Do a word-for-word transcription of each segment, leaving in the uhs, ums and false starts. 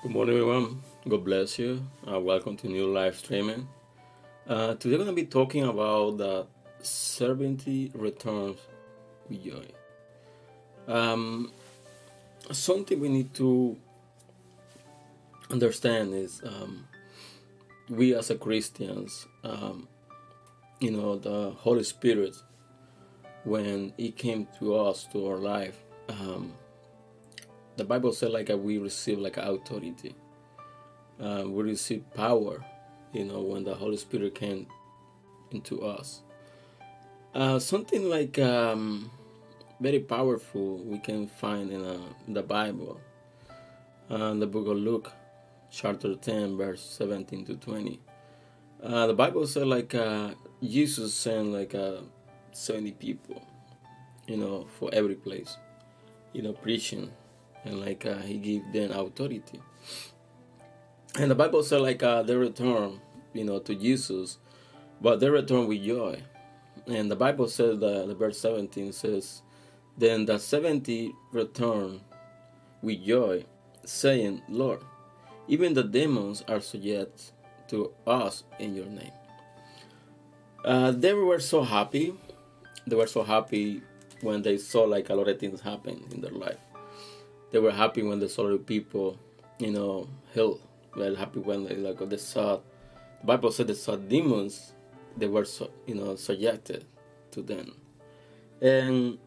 Good morning, everyone. God bless you. Uh, welcome to new live streaming. Uh, today, we're going to be talking about the seventy returns with joy. Um, something we need to understand is um, we as a Christians, um, you know, the Holy Spirit, when it came to us, to our life, um, the Bible said like uh, we receive like authority. Uh, we receive power, you know, when the Holy Spirit came into us. Uh, something like um, very powerful we can find in, uh, in the Bible, uh, in the book of Luke, chapter ten, verse seventeen to twenty. Uh, the Bible said like uh, Jesus sent like uh, seventy people, you know, for every place, you know, preaching, and like uh, he gave them authority. And the Bible said like uh, they return, you know, to Jesus, but they return with joy. And the Bible says that the verse seventeen says, then the seventy returned with joy, saying, Lord, even the demons are subject to us in your name. Uh, they were so happy. They were so happy when they saw like a lot of things happen in their life. They were happy when they saw the people, you know, healed. They were happy when they like they saw. The Bible said they saw demons. They were so, you know, subjected to them. And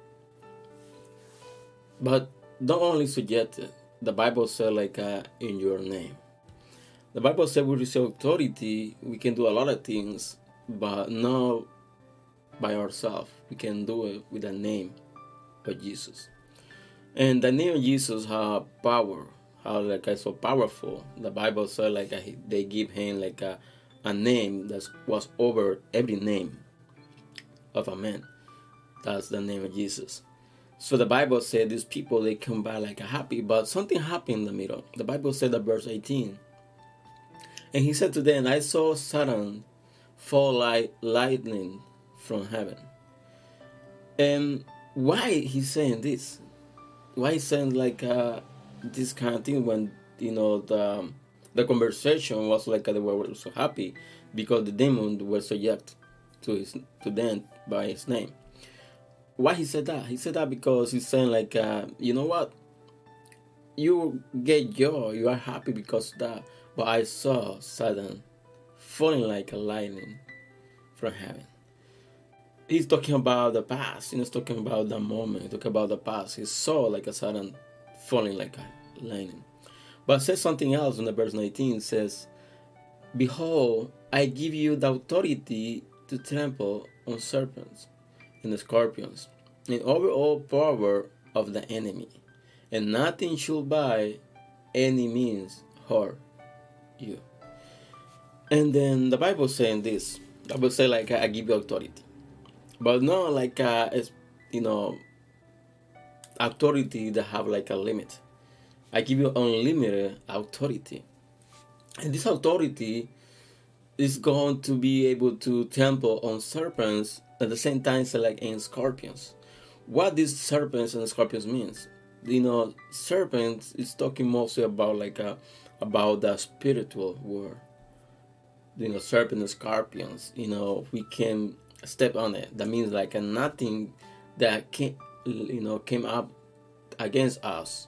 but not only subjected, the Bible said like uh, in your name. The Bible said we receive authority. We can do a lot of things, but not by ourselves. We can do it with the name of Jesus. And the name of Jesus have power. How like uh, so powerful. The Bible said like uh, they give him like a, a name that was over every name of a man. That's the name of Jesus. So the Bible said these people, they come back like happy, but something happened in the middle. The Bible said that verse eighteen. And he said to them, I saw Satan fall like lightning from heaven. And why he's saying this? Why he's saying like uh, this kind of thing when, you know, the the conversation was like they were so happy because the demons were subject to his to them by his name. Why he said that? He said that because he's saying like, uh, you know what? You get joy, you are happy because of that. But I saw Satan falling like a lightning from heaven. He's talking about the past. He's talking about the moment. He's talking about the past. He saw like a Satan falling like a lightning. But it says something else in the verse nineteen. It says, behold, I give you the authority to trample on serpents and the scorpions, and over all power of the enemy, and nothing should by any means hurt you. And then the Bible saying this. The Bible say like I give you authority, but not like uh, you know, authority that have like a limit. I give you unlimited authority, and this authority is going to be able to trample on serpents at the same time so like in scorpions. What these serpents and scorpions means, you know, serpents is talking mostly about like a, about the spiritual world. You know, serpent and scorpions, you know, we can step on it. That means like a nothing that can, you know, came up against us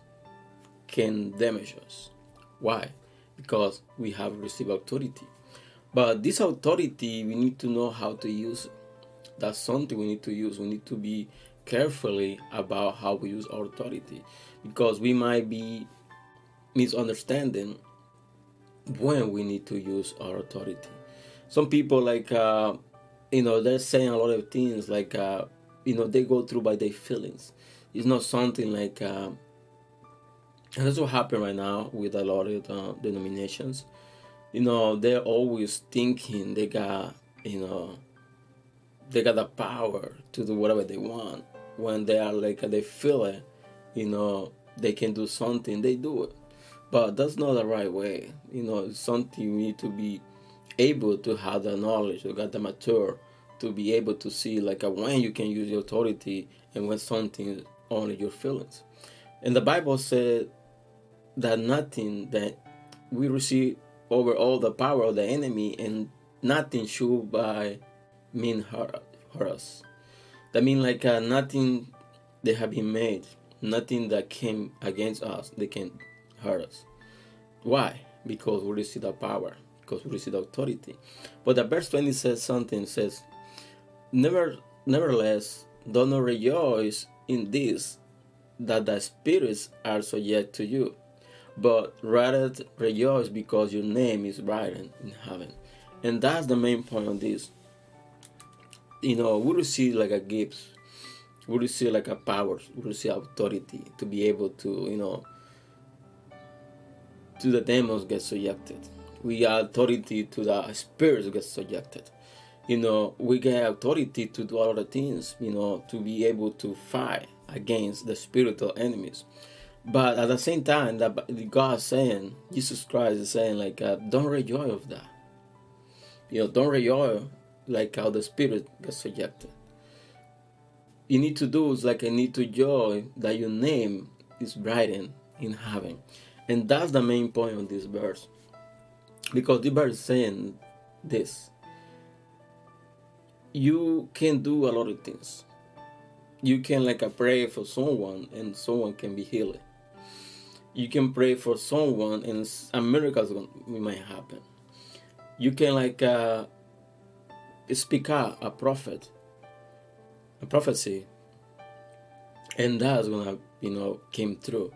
can damage us. Why? Because we have received authority. But this authority, we need to know how to use it. That's something we need to use. We need to be carefully about how we use our authority, because we might be misunderstanding when we need to use our authority. Some people like, uh, you know, they're saying a lot of things like, uh, you know, they go through by their feelings. It's not something like, uh, and that's what happened right now with a lot of uh, denominations. You know, they're always thinking they got, you know, they got the power to do whatever they want. When they are like, they feel it, you know, they can do something, they do it. But that's not the right way. You know, it's something you need to be able to have the knowledge, to get the mature, to be able to see like a, when you can use your authority and when something is only your feelings. And the Bible said that nothing that we receive over all the power of the enemy, and nothing should by mean hurt, hurt us. That means like uh, nothing that have been made, nothing that came against us, they can hurt us. Why? Because we receive the power, because we receive the authority. But the verse twenty says something, says, Never, nevertheless, do not rejoice in this, that the spirits are subject to you, but rather rejoice because your name is written in heaven. And that's the main point of this. You know, we receive like a gift, we receive like a power, we receive authority to be able to, you know, to the demons get subjected. We have authority to the spirits get subjected. You know, we get authority to do all the things, you know, to be able to fight against the spiritual enemies. But at the same time, that God is saying, Jesus Christ is saying, like, uh, don't rejoice of that. You know, don't rejoice like how the spirit gets subjected. You need to do is like I need to joy that your name is written in heaven. And that's the main point of this verse. Because the verse is saying this. You can do a lot of things. You can like uh, pray for someone and someone can be healed. You can pray for someone and a miracle might happen. You can like uh, speak out a prophet, a prophecy, and that's gonna, you know, came through.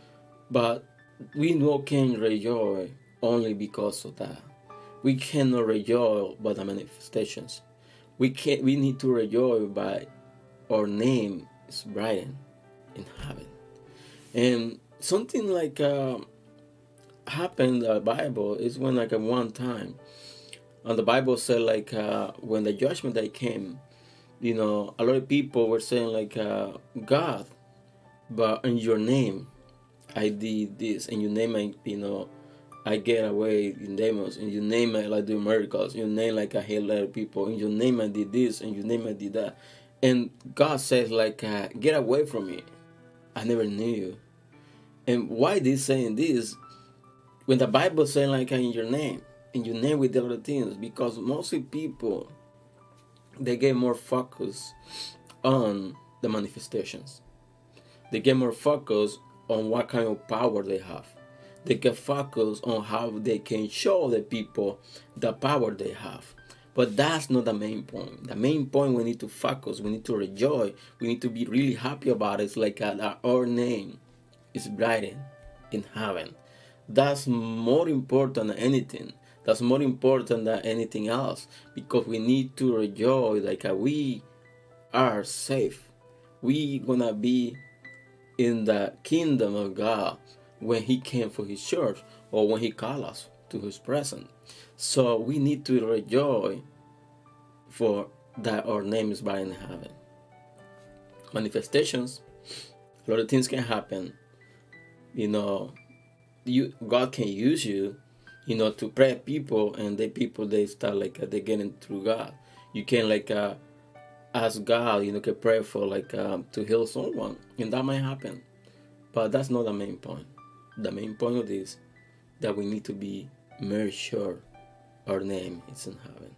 But we no can rejoice only because of that. We cannot rejoice by the manifestations. We can we need to rejoice by our name is written in heaven. And something like uh, happened in the Bible is when like at one time, and the Bible said like uh, when the judgment day came, you know, a lot of people were saying like uh, God, but in your name I did this, in your name I, you know, I get away in demons, in your name I like do miracles, in your name like I heal other people, in your name I did this, in your name I did that. And God says like uh, get away from me, I never knew you. And why they saying this when the Bible saying like in your name, in your name we did other things? Because mostly people, they get more focus on the manifestations. They get more focus on what kind of power they have. They get focus on how they can show the people the power they have. But that's not the main point. The main point we need to focus, we need to rejoice, we need to be really happy about it. It's like uh, our name is written in heaven. That's more important than anything. That's more important than anything else, because we need to rejoice like uh, we are safe. We gonna be in the kingdom of God when He came for His church, or when He called us to His presence. So we need to rejoice for that our name is written in heaven. Manifestations, a lot of things can happen. You know, you God can use you, you know, to pray people, and the people they start like uh, they getting through God. You can like uh, ask God, you know, can pray for like um, to heal someone, and that might happen. But that's not the main point. The main point of this that we need to be very sure our name is in heaven,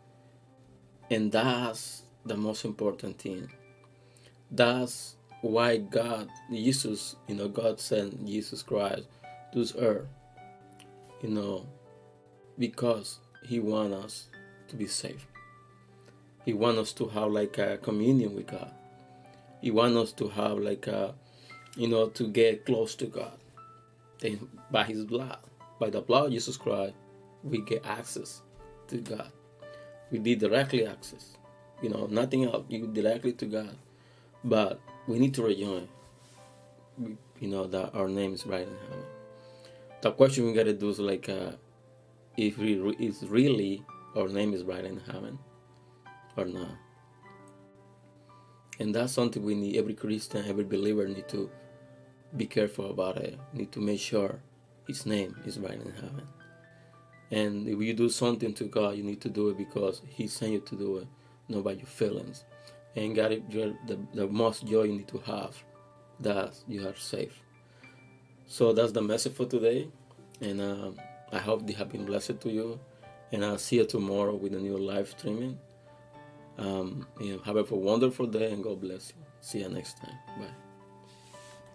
and that's the most important thing. That's why God, Jesus, you know, God sent Jesus Christ to this earth, you know, because He wants us to be safe. He wants us to have like a communion with God. He wants us to have like a, you know, to get close to God. And by His blood, by the blood of Jesus Christ, we get access to God. We did directly access, you know, nothing else. You directly to God. But we need to rejoice, you know, that our name is right in heaven. The question we gotta do is like, uh, if we re- is really our name is right in heaven or not. And that's something we need. Every Christian, every believer need to be careful about it. Need to make sure His name is right in heaven. And if you do something to God, you need to do it because He sent you to do it, not by your feelings. And God, the, the most joy you need to have, that you are safe. So that's the message for today, and uh, I hope they have been blessed to you. And I'll see you tomorrow with a new live streaming. Um, you know, have a wonderful day, and God bless you. See you next time. Bye.